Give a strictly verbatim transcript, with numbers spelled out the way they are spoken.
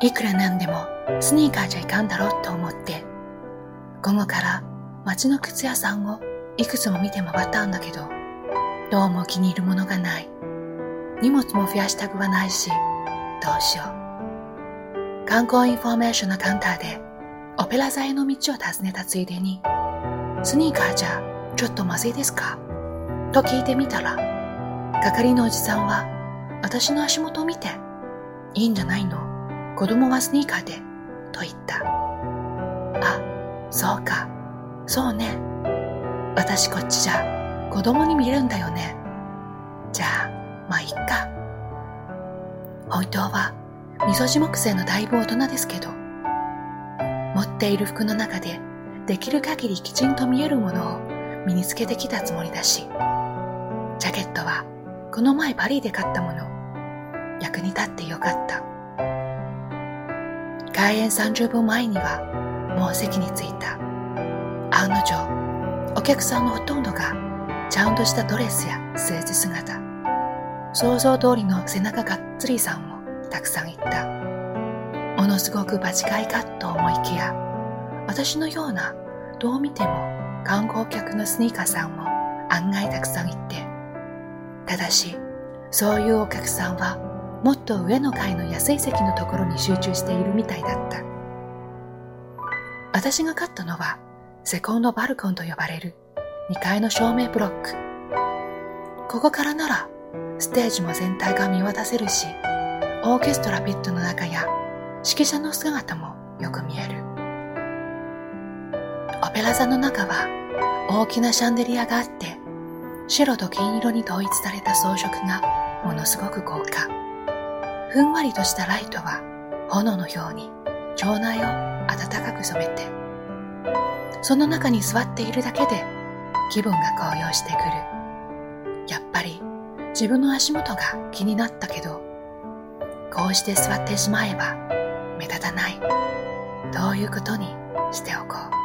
いくらなんでもスニーカーじゃいかんだろうと思って、午後から街の靴屋さんをいくつも見て回ったんだけど、どうも気に入るものがない。荷物も増やしたくはないし、どうしよう。観光インフォメーションのカウンターでオペラ座への道を尋ねたついでに、スニーカーじゃちょっとまずいですかと聞いてみたら、係のおじさんは私の足元を見て、いいんじゃないの、子供はスニーカーでと言った。あ、そうか、そうね。私こっちじゃ子供に見えるんだよね。じゃあまあいっか。本当はみそじ木製のだいぶ大人ですけど、持っている服の中でできる限りきちんと見えるものを身につけてきたつもりだし、ジャケットはこの前パリで買ったもの。役に立ってよかった。開演さんじゅっぷんまえにはもう席に着いた。案の定、お客さんのほとんどがちゃんとしたドレスやスーツ姿。想像通りの背中がっつりさんもたくさんいた。ものすごく場違いかと思いきや、私のようなどう見ても観光客のスニーカーさんも案外たくさんいて、ただしそういうお客さんはもっと上の階の安い席のところに集中しているみたいだった。私が買ったのはセコンドバルコンと呼ばれるにかいの照明ブロック。ここからならステージも全体が見渡せるし、オーケストラピットの中や指揮者の姿もよく見える。オペラ座の中は大きなシャンデリアがあって、白と金色に統一された装飾がものすごく豪華。ふんわりとしたライトは炎のように場内を暖かく染めて、その中に座っているだけで気分が高揚してくる。やっぱり自分の足元が気になったけど、こうして座ってしまえば目立たないということにしておこう。